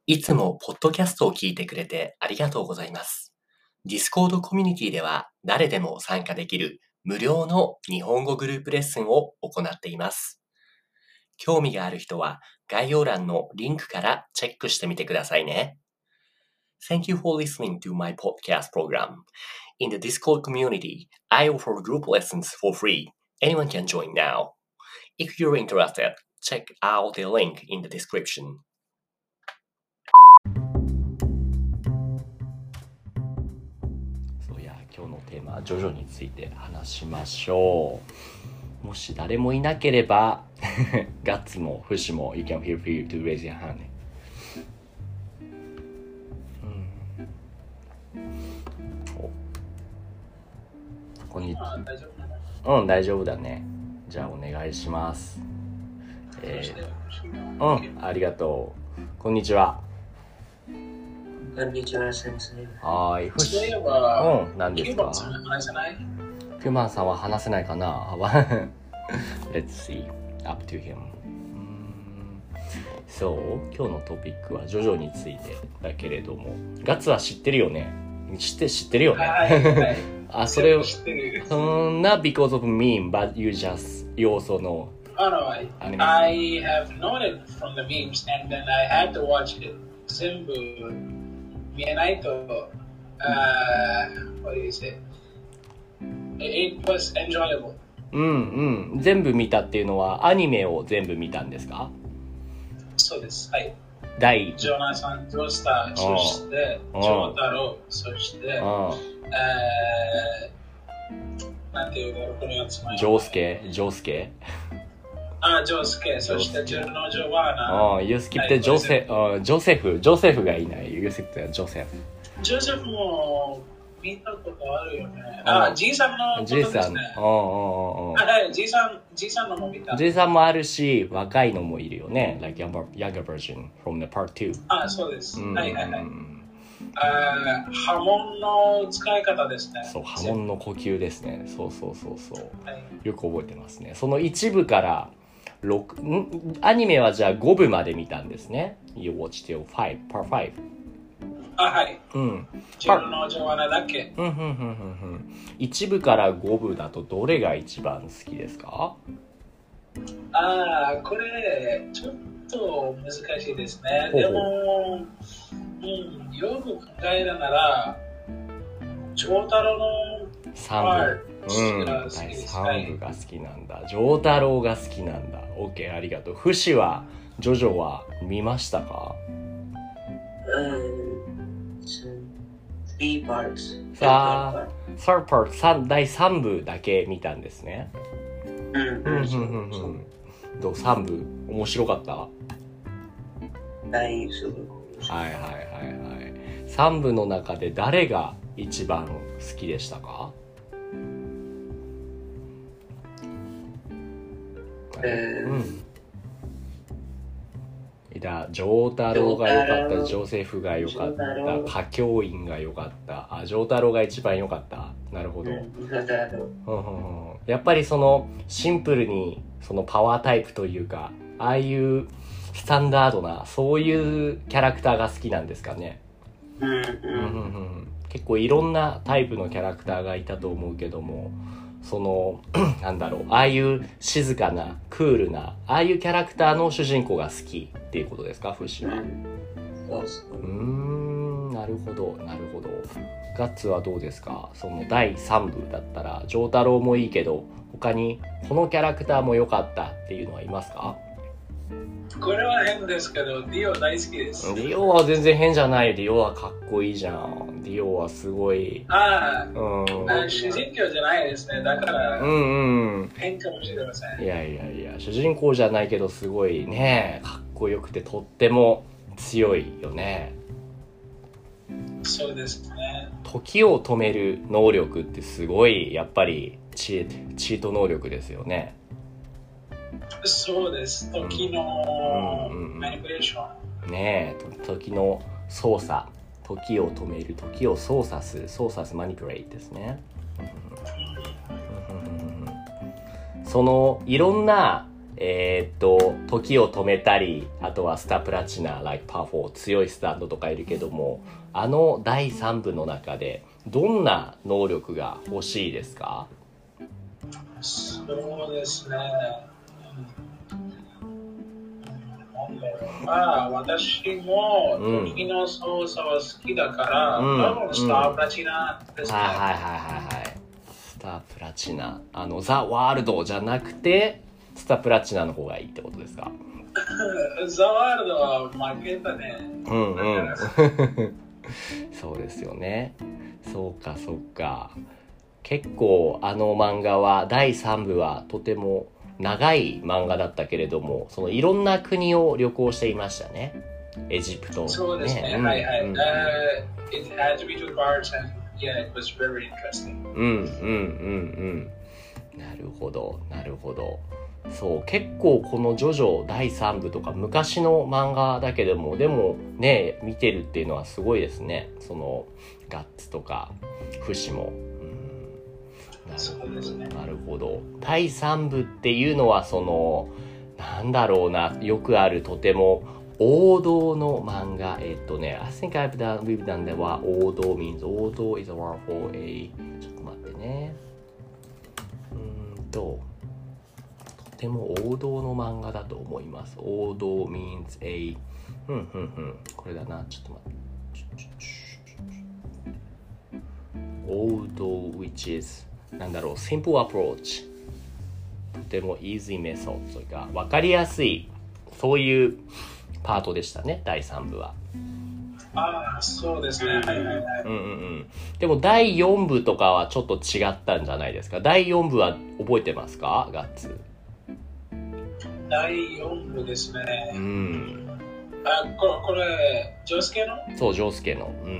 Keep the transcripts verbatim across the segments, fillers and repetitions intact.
いつもポッドキャストを聞いてくれてありがとうございます。Discord コミュニティでは誰でも参加できる無料の日本語グループレッスンを行っています。興味がある人は概要欄のリンクからチェックしてみてくださいね。Thank you for listening to my podcast program. In the Discord community, I offer group lessons for free. Anyone can join now. If you're interested, check out the link in the description.今日のテーマはジョジョについて話しましょう。もし誰もいなければガッツもフシも You can feel free to raise your hand、うん、こんにちは。うん、大丈夫だね。じゃあお願いします。えー、うん、ありがとう。こんにちは。 こんにちは、先生。 はい、フシ。うん、何ですか？ キューバンさんは話せない？ キューバンさんは話せないかな？Let's see. Up to him. そう、今日のトピックはジョジョについてだけれども、ガッツは知ってるよね？知って知ってるよね？ はいはい、 あ、それを知ってる。 そんな because of meme, but you just you also know. Oh no, I, I have known it from the memes, and then I had to watch it. 全部見えないと、uh, what do you say? It was enjoyable. うんうん。全部見たっていうのはアニメを全部見たんですか？ そうです。はい。 第ジョナサン・ジョスター、そしてジョータロ、そして、えー、なんていうか、このやつ前。 ジョースケ、ジョースケ。 あ、ジョースケ、そしてジョノ・ジョバーナ。 ああ、ユースキってジョセ、あ、ジョセフ、ジョセフがいない。ユースキってジョセフ。 ジョセフも見たことあるよね。あ、じいさんのことですね。 じいさん、うんうんうんうん。 はい、じいさん、じいさんのも見た。 じいさんもあるし、若いのもいるよね。Like younger, younger version from the part two。 あ、そうです。 うん、 はいはいはい。あ、波紋の使い方ですね。 そう、波紋の呼吸ですね。そうそうそうそう。 はい、 よく覚えてますね。その一部からろく、んアニメはじゃあごぶまで見たんですね。You watch till five, part five。 あ、はい。 うん。 ジョノ・ジョバーナだけ。 うんうんうんうんうん。一部からごぶだとどれが一番好きですか？ ああ、これちょっと難しいですね。でも、うん、よく考えるなら、長太郎のさんぶ、うん、第さんぶが好きなんだ。長太郎が好きなんだ。OK、ありがとう。フシはジョジョは見ましたか？ さん parts。 さあ、さん part、だいさんぶだけ見たんですね。 うんうんうんうん。どうさんぶ面白かった？ 大すごい。 はいはいはいはい。さんぶの中で誰が一番好きでしたか？ えー、 うん。いた、丈太郎が良かった、ジョセフが良かった、歌教員が良かった、あ、丈太郎が一番良かった。なるほど。うん、やっぱりそのシンプルにそのパワータイプというか、ああいうスタンダードなそういうキャラクターが好きなんですかね。 うんうんうんうん、結構いろんなタイプのキャラクターがいたと思うけども、そのなんだろう、ああいう静かなクールなああいうキャラクターの主人公が好きっていうことですか、フシは。 そうそう。 うーん、なるほどなるほど。ガッツはどうですか？そのだいさんぶだったら丈太郎もいいけど、他にこのキャラクターも良かったっていうのはいますか？ これは変ですけど、ディオ大好きです。 ディオは全然変じゃない。ディオはかっこいいじゃん。ディオはすごい。 ああ、 うん、 あ、主人公じゃないですね。だから、 うんうん、 変かもしれません。 いやいやいや、主人公じゃないけどすごいね、かっこよくてとっても強いよね。 そうですね。 時を止める能力ってすごいやっぱりチー、チート能力ですよね。 そうです。時のマニピュレーション。 ねえ、時の操作、時を止める、時を操作する、操作するマニピュレートですね。そのいろんなえー、っと、時を止めたり、あとはスタープラチナ、like パフォー、強いスタンドとかいるけども、あのだいさん部の中で、どんな能力が欲しいですか？ そうですね。まあ、私も時の操作は好きだから、 うん、 多分スタープラチナですね。 はいはいはいはいはい。スタープラチナ。あの、ザ・ワールドじゃなくて、スタープラチナの方がいいってことですか？ ザ・ワールドは負けたね。 うんうん。そうですよね。そうかそうか。結構あの漫画はだいさん部はとても長い漫画だったけれども、そのいろんな国を旅行していましたね。エジプト、ね。 そうですね。うん、はいはい。うん、uh, it had to be two parts and yeah, it was very interesting. うんうんうんうん。なるほどなるほど。そう結構このジョジョだいさん部とか昔の漫画だけども、でもね見てるっていうのはすごいですね。そのガッツとかフシも。 そうですね。 なるほど。だいさん部っていうのはそのなんだろうな、よくあるとても王道の漫画。えっとね I think I've done, we've done that は王道 means 王道 is a word for a ちょっと待ってね。うーんととても王道の漫画だと思います。王道 means a ふんふんふんこれだな。ちょっと待って。王道 which isなんだろう simple approach とても easy method というか分かりやすいそういうパートでしたねだいさん部は。 ああそうですね。はいはいはい。 うんうんうん。でもだいよん部とかはちょっと違ったんじゃないですか。だいよん部は覚えてますか？ガッツ。 だいよん部ですね。 うん。 あここれジョスケの？ そうジョスケの。うんうん。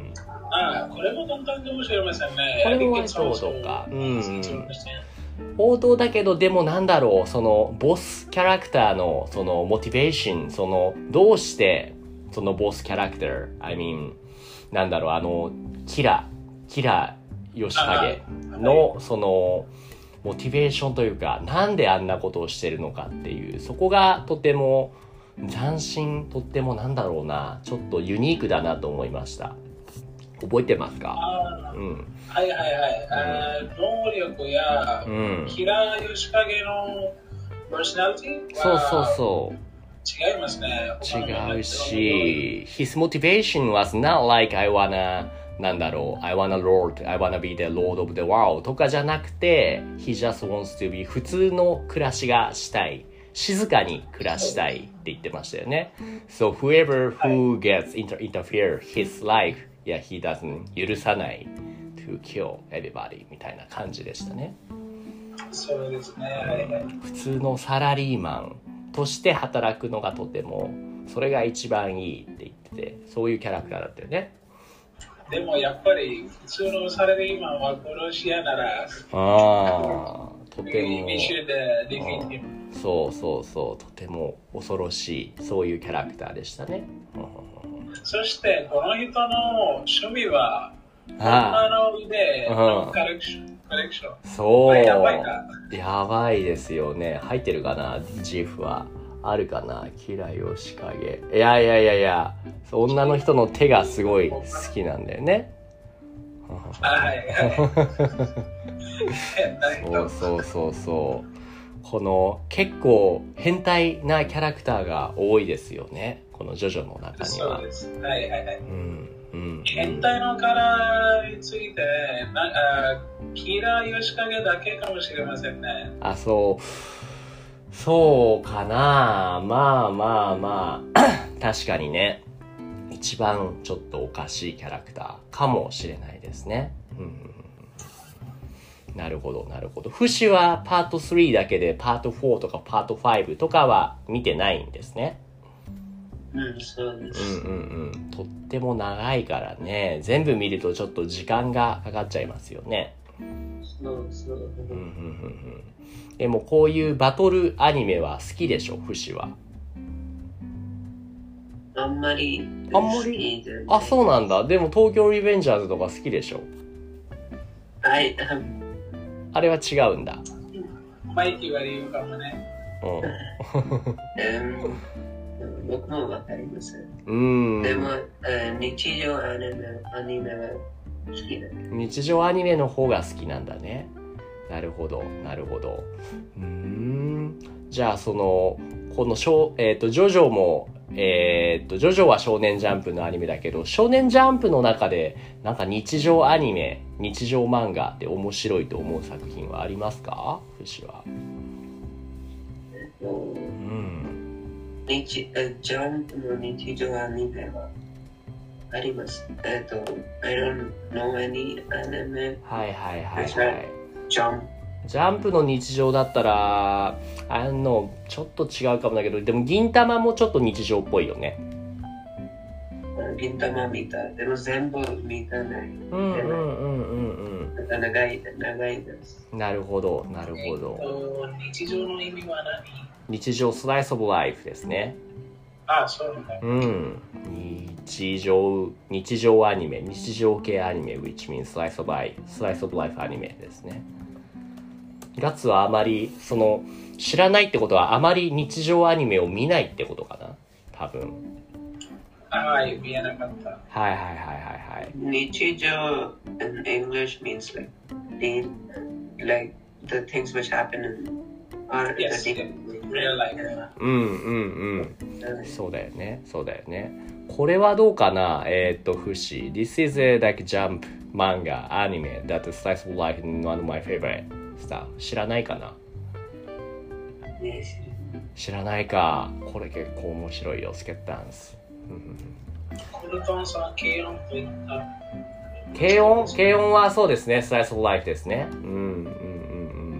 ああ、これも簡単かもしれませんね。 これも割と王道か。うん、うん。王道だけど、でもなんだろう、そのボスキャラクターのそのモチベーション、そのどうしてそのボスキャラクター、I mean なんだろう、あのキラキラヨシカゲのそのモチベーションというか、なんであんなことをしてるのかっていう、そこがとても斬新、とってもなんだろうな、ちょっとユニークだなと思いました。覚えてますか？うん、 はいはいはい。あ能力や、うん、キラヨシカゲのパーソナリティそうそうそう。 違いますね。 違うし、his motivation was not like I wanna なんだろう I wanna lord, I wanna be the lord of the world とかじゃなくて he just wants to be 普通の暮らしがしたい。静かに暮らしたいって言ってましたよね。So whoever who gets inter- interfere his life Yeah, he doesn't 許さない to kill everybody みたいな感じでしたね。 そうですね。 普通のサラリーマンとして働くのがとてもそれが一番いいって言ってて、そういうキャラクターだったよね。 でもやっぱり普通のサラリーマンは殺し屋なら、ああとても、 うん、 そうそうそう、とても恐ろしいそういうキャラクターでしたね。 そしてこの人の趣味は女の腕のコレクション。 そう。 やばいか。 やばいですよね。入ってるかな、ジフは。あるかな、キラヨシカゲ。いやいやいやいや、女の人の手がすごい好きなんだよね。 はいそうそうそうそう。この結構変態なキャラクターが多いですよね。このジョジョの中には。 そうです。はいはいはい。 うんうん、 変態のキャラについてなあ、キラヨシカゲだけかもしれませんね。 あ、そう。そうかな。まあまあまあ。確かにね。一番ちょっとおかしいキャラクターかもしれないですね。うんなるほどなるほど。フシはパートスリーだけでパートフォーとかパートファイブとかは見てないんですね。 うんそうです。 うんうんうん。とっても長いからね。全部見るとちょっと時間がかかっちゃいますよね。 そうそう。うんうんうんうん。でもこういうバトルアニメは好きでしょ、フシは。 あんまり。 あんまり。あ、そうなんだ。でも東京リベンジャーズとか好きでしょ。 はい。 あれは違うんだ。 マイキーは言うかもね。 うん僕もわかります。 うん。 でも、日常アニメ、アニメは好きだ。 日常アニメの方が好きなんだね。なるほど、なるほど。うーん。じゃあそのこのしょ、えっとジョジョもえっとジョジョは少年ジャンプのアニメだけど、少年ジャンプの中でなんか日常アニメ、日常漫画って面白いと思う作品はありますか？フシは。 うん。日ジャンプの日常アニメはあります。えっと、I don't know any anime. はいはいはいはい。 ジャンプ。 ジャンプの日常だったら、あの、ちょっと違うかもだけど、でも銀玉もちょっと日常っぽいよね。 銀玉見た。でも全部見たない。 うんうんうんうんうん。 長い、長いです。 なるほど、なるほど。 えっと、日常の意味は何？ 日常スライスオブライフですね。 ああ、そうなんだ。 うん。日常、日常アニメ、日常系アニメ、which means slice of life、slice of life アニメですね。ガッツはあまりその知らないってことはあまり日常アニメを見ないってことかな、多分。 はい、見えなかった。 はいはいはいはいはい。 日常 in English means like the like the things which happen in our yes, real life. うんうんうん。そうだよね、そうだよね。これはどうかな、えー、っとフシ。This is a like jump manga anime that is slice of life and one of my favorite stuff. 知らないかな？知らないか。これ結構面白いよ、スケッタンス。 このトンさん、軽音と言った。 軽音軽音はそうですね、スライスオブライフですね。うんうんうんうん。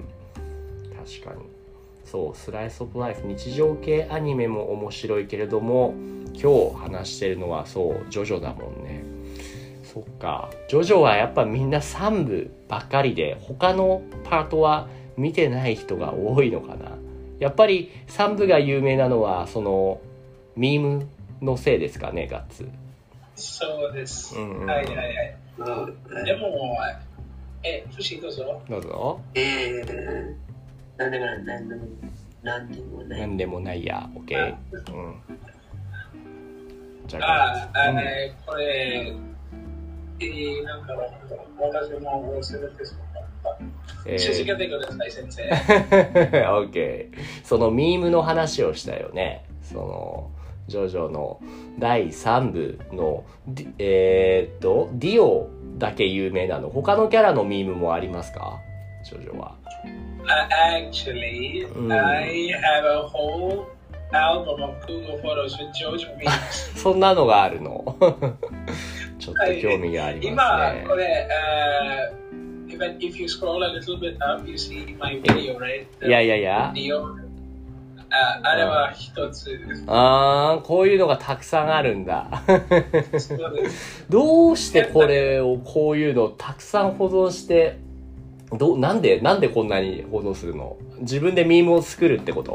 確かに。そう、スライスオブライフ、日常系アニメも面白いけれども、今日話してるのはそう、ジョジョだもんね。そっか。ジョジョはやっぱみんなさんぶばっかりで、他のパートは見てない人が多いのかな。やっぱりさんぶが有名なのは、その、ミームのせいですかね、ガッツ。 そうです。うんうん、はいはいはい。でも、え、フシどうぞ。 どうぞ。 えー、なんでもない、なんでもなんでもない。 なんでもないや、オッケー。うん。 じゃあ、あ、あれ、これ、えー、なんか、私も忘れてしまった。えー、続けてください、先生。 オッケー。そのミームの話をしたよね。その、ジョジョのだいさんぶの、えー、っと、ディオだけ有名なの。他のキャラのミームもありますか？ジョジョは。 Uh, actually, mm. I have a whole album of Google Photos with JoJo memes. そんなのがあるの？ちょっと興味がありますね。 今、これ、uh, if, if you scroll a little bit up, you see my video, right? いやいやいや。 あ, あれは一つ。 ああ、こういうのがたくさんあるんだ。どうしてこれを、こういうのをたくさん保存して、どなんで、なんでこんなに保存するの？自分でミームを作るってこと？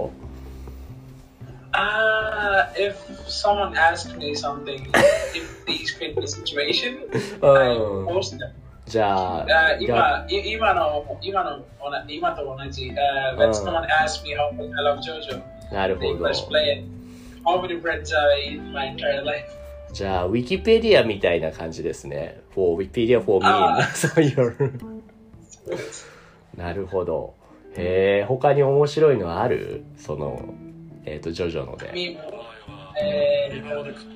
ああ、if someone asked me something, if these fit the situation, I post them. じゃあ、 今、今の、今の、今と同じ、uh, when someone asked me how much I love JoJo, なるほど。 English play it, how many friends I in my entire life. じゃあ、ウィキペディアみたいな感じですね。for Wikipedia for me. そういう。なるほど。へえ、他に面白いのある？その、えっと、ジョジョので。 えー、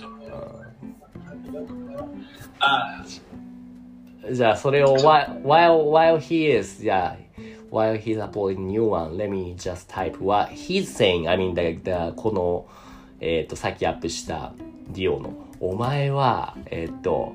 あじゃあそれを while, while, while he is, yeah, while he's uploading new one, let me just type what he's saying. I mean, the, the, この、えっと、さっきアップしたディオの、お前は、えっと、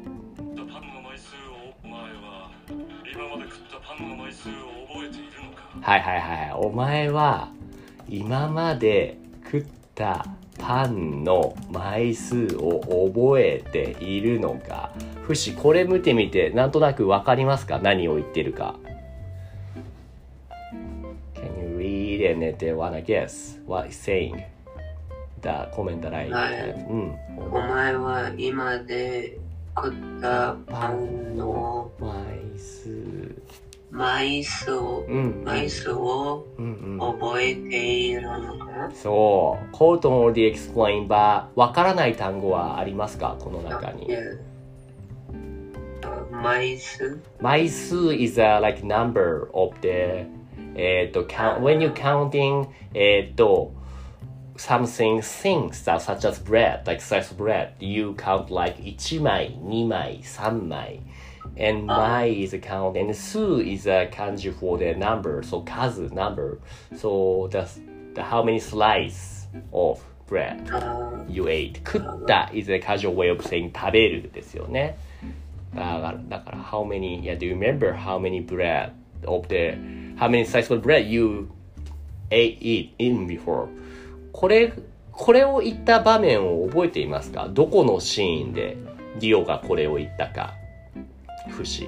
はいはいはい。お前は、今まで食ったパンの枚数を覚えているのか？フシ、これ見てみて、なんとなくわかりますか？何を言ってるか。Can you read and then wanna guess what he's saying? The comment that I have. うん。 お前は今で食ったパンの枚数枚数を、 うん、 枚数を覚えているのかな、 うんうん、そう。quote already explained but わからない単語はありますかこの中に。 枚数枚数 is a like number of the えっと count when you counting えっと something things that such as bread like slice of bread you count like いちまいにまいさんまい and 枚 is a count and 数 is a 漢字 for the number so 数 number so the, the how many slice of bread you ate 食った is a casual way of saying 食べるですよねだから、だから how many, yeah, do you remember how many bread of the, how many slices of bread you ate it in before? これ、これを言った場面を覚えていますかどこのシーンでディオがこれを言ったか節。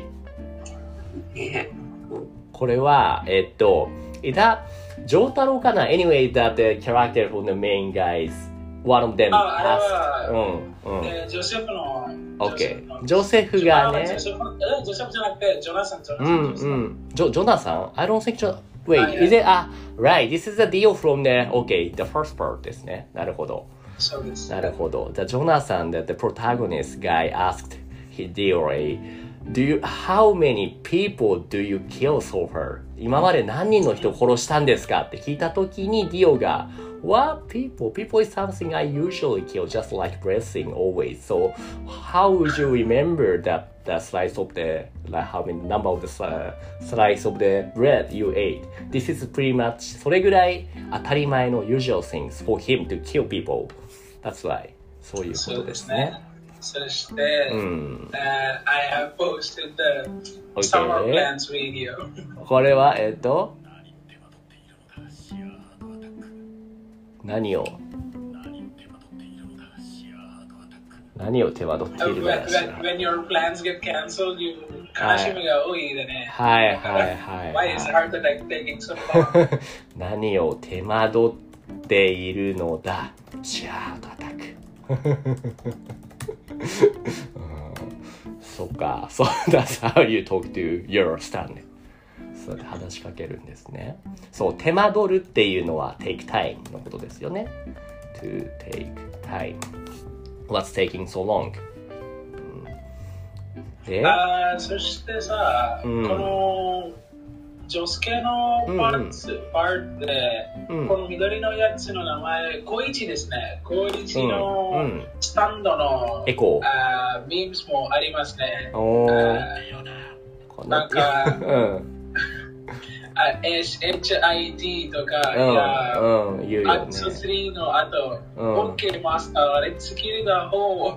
これは、えっと、だ、ジョータロかな ?Anyway, that the character from the main guys, one of them asked, うん、うん。 ジョセフの OK。ジョセフがね。 ジョセフじゃなくて、ジョナサン。 うんうん。ジョ、ジョナサン ?I don't think so. Wait, is it? あ、right. This is the deal from the, OK, the first part ですね。なるほど。 そうです。 なるほど。The Jonathan, that the protagonist guy asked Hideo, do you, how many people do you kill so far? 今まで何人の人を殺したんですかって聞いたときにディオがWhat people? People is something I usually kill, just like breathing always. So how would you remember that the slice of the, like how many number of the uh, slice of the bread you ate? This is pretty much それぐらい当たり前の usual things for him to kill people. That's why. そういうことですね。 そして、うん、uh, I have posted the summer plans video. これはえっと何を何を手間取っているのかしら。 When your plans get cancelled, you 悲しみが多いでね。 はいはいはい。 Why is heart attack taking so long? 何を手間取っているのだ。シャートアタック。そっか。So that's how you talk to your stand. そうで話しかけるんですね。そう、手間取るっていうのは take time のことですよね。to take time. What's taking so long? で、あそしてさ、うん、この女性のパーツ、うん、パーツで、うん、この緑のやつの名前、コイチですね。コイチのスタンドの、 エコー。 あミームスもありますね。 おー。 なんか、うんエイチアイティー とか、うん、いや、うん、言うよね。アクセスリーの後、うん、OK マスター、あれスキルだ方。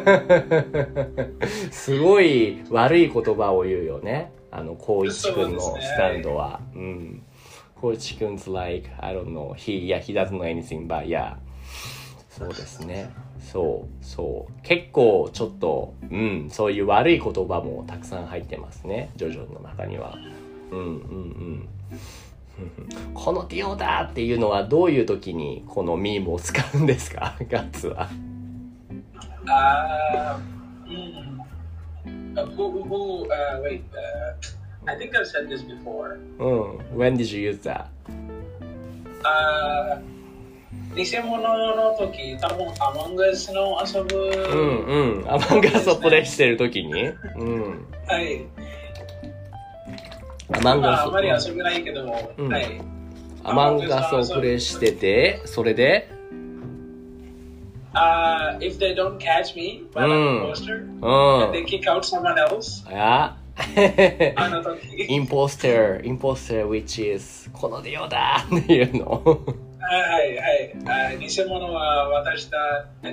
すごい悪い言葉を言うよね。あの、光一くんのスタンドは。うね、うん。光一くん 's like, I don't know, he, yeah, he doesn't know anything, but yeah. そうですね。そう、そう。結構ちょっと、うん、そういう悪い言葉もたくさん入ってますね。ジョジョの中には。うんうんうん。このディオだっていうのはどういう時にこのミームを使うんですかガッツは。 あー、うん。Who, who, uh, wait, uh, I think I've said this before. うん。When did you use that? あー、偽物の時、多分アマンガスの遊ぶ。 うんうん。アマンガスをプレイしてる時に。うん。 はい。 アマンガス、 あまり遊べないけども、うん、はい。 アマンガスをプレイしてて、それで、 uh, if they don't catch me by the imposter, and they kick out someone else. ああの時。インポスター、インポスター which is このディオだっていうの。 はいはい。偽物は私だ。 うん、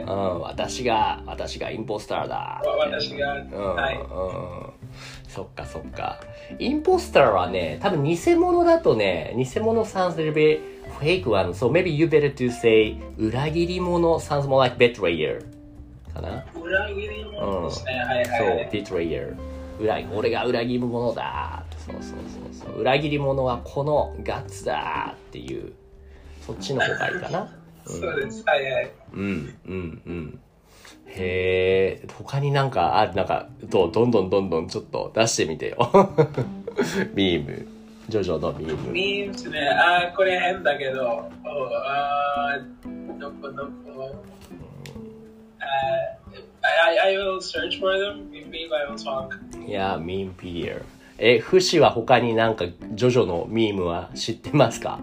私が、私がインポスターだ。 私が、 うん、はい。うんそっかそっか。インポスターはね、多分偽物だとね、偽物 sounds a little bit fake one. So maybe you better to say 裏切り者 sounds more like betrayer かな。 裏切り者ですね。うん、はいはい。そう、 betrayer。裏、俺が裏切り者だ。そうそうそうそう。裏切り者はこのガッツだっていう、そっちの方がいいかな。 うん、そうです。はいはい。 うんうんうん。へで、他になんか、あ、なんか、どんどんどんどんちょっと出してみてよ。ミーム。ジョジョのミーム。 ミームスね。あ、これ変だけど。あ、どこどこ。I, I will search for them. Maybe I will talk. Yeah, meme pedia. え、フシは他になんかジョジョのミームは知ってますか？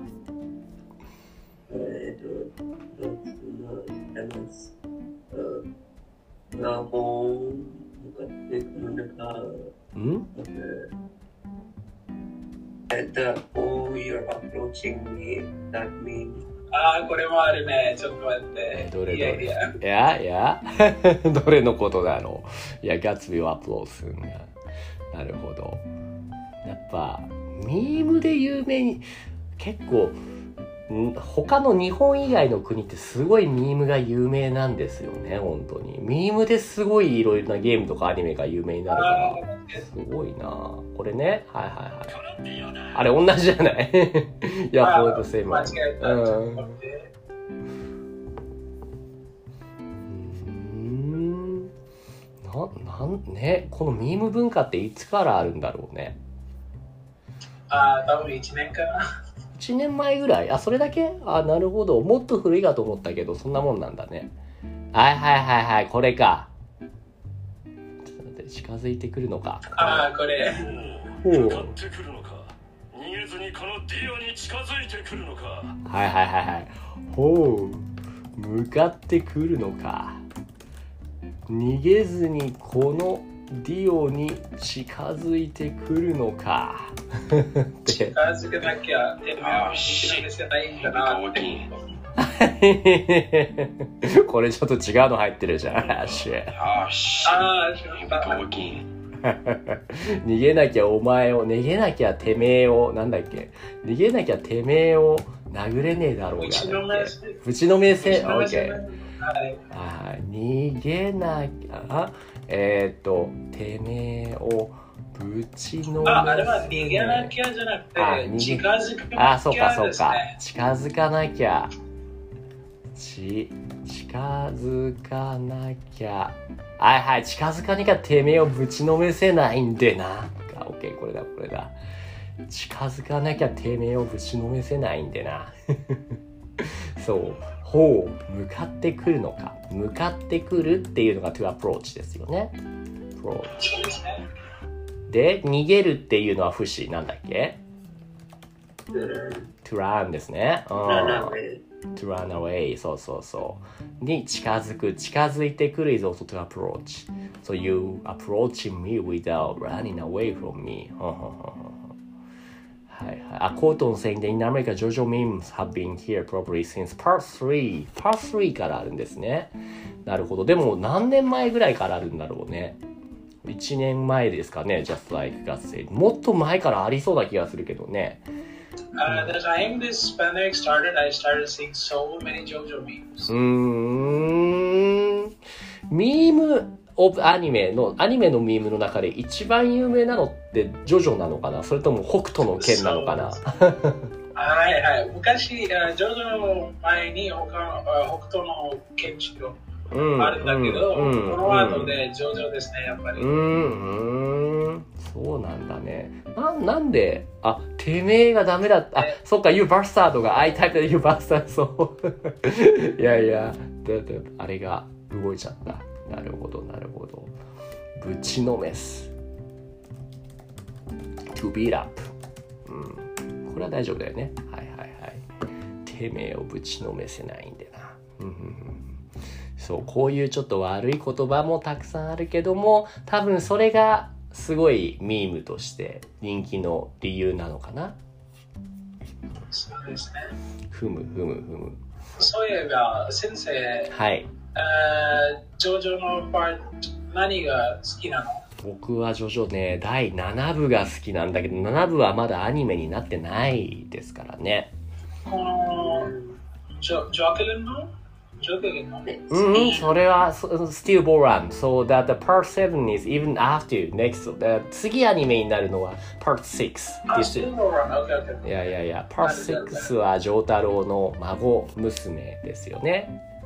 えっと、どっちのやつ、ラボ向かってくるのか。 ん？ えっと、oh, you're approaching me. That means. ああ、これもあるね。ちょっと待って。 え、どれどれ？ いやいや、いや、いやどれのことだろう。いや、ガッツビーをアップロードするんだ。なるほど。やっぱ、ミームで有名に、結構、他の日本以外の国ってすごいミームが有名なんですよね、本当に。ミームですごいいろいろなゲームとかアニメが有名になるから、すごいな。これね、はいはいはい。あれ同じじゃない？いや、ほんとセーマー。 間違えた。うんん。な、なんね、このミーム文化っていつからあるんだろうね。 ああ、多分いちねんかな。 いちねんまえぐらい？あ、それだけ？あ、なるほど。もっと古いかと思ったけど、そんなもんなんだね。はいはいはいはい、これか。ちょっと待って、近づいてくるのか。 ああ、これ。 ほう。 向かってくるのか。逃げずにこのディオに近づいてくるのか。 はいはいはいはい。ほう。向かってくるのか。逃げずにこのディオに近づいてくるのか。 近づけなきゃ手をしなきゃないんだなって。 これちょっと違うの入ってるじゃん。あしああ、しまった。 逃げなきゃお前を、逃げなきゃてめえを、なんだっけ、逃げなきゃてめえを殴れねえだろうが。 うちの目線。 うちの目線、オッケー。 はいあ、逃げなきゃ、えー、っと、てめえをぶちのめせ。 あ、あれは逃げなきゃじゃなくて、近づかなきゃ。 あ、そうかそうか。近づかなきゃ。ち、近づかなきゃ。はいはい、近づかなきゃてめえをぶちのめせないんでな。オッケー、これだ、これだ。近づかなきゃてめえをぶちのめせないんでな。そう。ほう、向かってくるのか。向かってくるっていうのが to approach ですよね。approach。で、逃げるっていうのは不死なんだっけ？ to run ですね。うん。to run away。そうそうそう。に近づく。近づいてくる is also to approach. So you approaching me without running away from me. はいはい。あ、コートンsaying that in America, JoJo memes have been here probably since part three. part three からあるんですね。なるほど。でも何年前ぐらいからあるんだろうね。いちねんまえですかね。Just like God said. もっと前からありそうな気がするけどね。 Uh, the time this pandemic started, I started seeing so many JoJo memes. うーん。ミームオブアニメの、アニメのミームの中で一番有名なのってジョジョなのかな？それとも北斗の拳なのかな？ はいはい。昔、ジョジョの前に他北斗の拳士があるんだけど、うんうん、この後でジョジョですね、やっぱり。うん、 うん、そうなんだね。な、なんで、あ、てめえがダメだった。あ、そっか、You bastard が I typed You bastard そう。いやいや、だだあれが動いちゃった。なるほど、なるほど。ぶちのめす。to beat up。うん。これは大丈夫だよね。はいはいはい。てめえをぶちのめせないんでな。うんうんうん、そう、こういうちょっと悪い言葉もたくさんあるけども、多分それがすごいミームとして人気の理由なのかな。 そうですね。 ふむふむふむ。 そういえば、先生。 はい。 ジョジョのパート何が好きなの？ 僕はジョジョね、だいななぶが好きなんだけど、ななぶはまだアニメになってないですからね。 このジョジョケルンのジョケルンのうん、それは still born. So that the part seven is even after next. The 次アニメになるのは part six. あ、still born. Okay, okay. いやいやいや、part six はジョータロウの孫娘ですよね。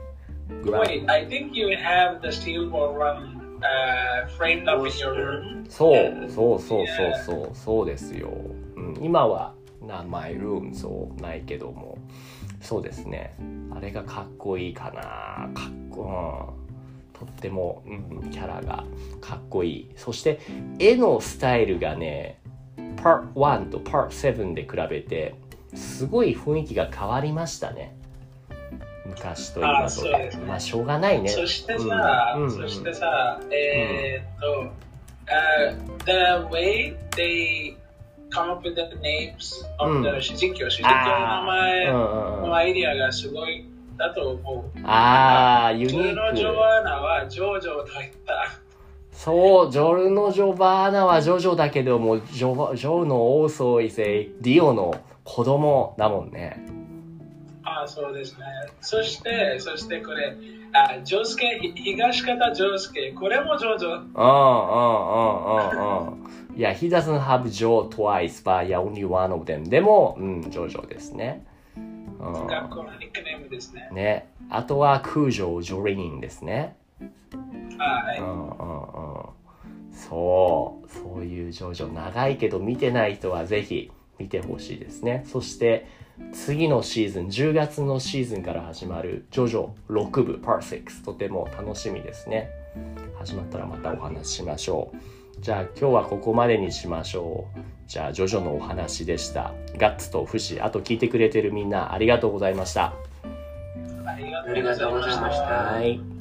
グラン Wait, I think you have the steel ball run uh, framed up in your room. そうそうそうそうそうそうですよ、うん、今はなマイルームそうないけども、そうですね、あれがかっこいいかな、かっこ、うん、とっても、うん、キャラがかっこいい。そして絵のスタイルがね、パートワンとパートセブンで比べてすごい雰囲気が変わりましたね、昔と今とで。まあしょうがないね。 そしてさ、 うんうん、 そしてさ、えー、っと、uh, the way they come up with the names of the 主人公、主人公の名前のアイディアがすごいだと思う。 ああ、ユニーク。 ジョルノ・ジョバーナはジョージョと言った。 そう、ジョルノ・ジョバーナはジョジョだけども、ジョジョのオーソイセイ、ディオの子供だもんね。 ああ、そうですね。そして、そしてこれ、あ、ジョスケ、東方ジョスケ、これもジョジョ。うんうんうんうんうん。いや、he doesn't have Joe twice, but yeah, only one of them. でも、うん、ジョジョですね。 うん、学校のニックネームですね。 ね。あとは空城ジョリーンですね。 はい。 うんうんうん。そう、そういうジョジョ長いけど見てない人はぜひ見てほしいですね。そして次のシーズン、じゅうがつのシーズンから始まるジョジョろくぶパートろく、とても楽しみですね。始まったらまたお話ししましょう。じゃあ今日はここまでにしましょう。じゃあジョジョのお話でした。ガッツとフシ、あと聞いてくれてるみんなありがとうございました。 ありがとうございました。 はい。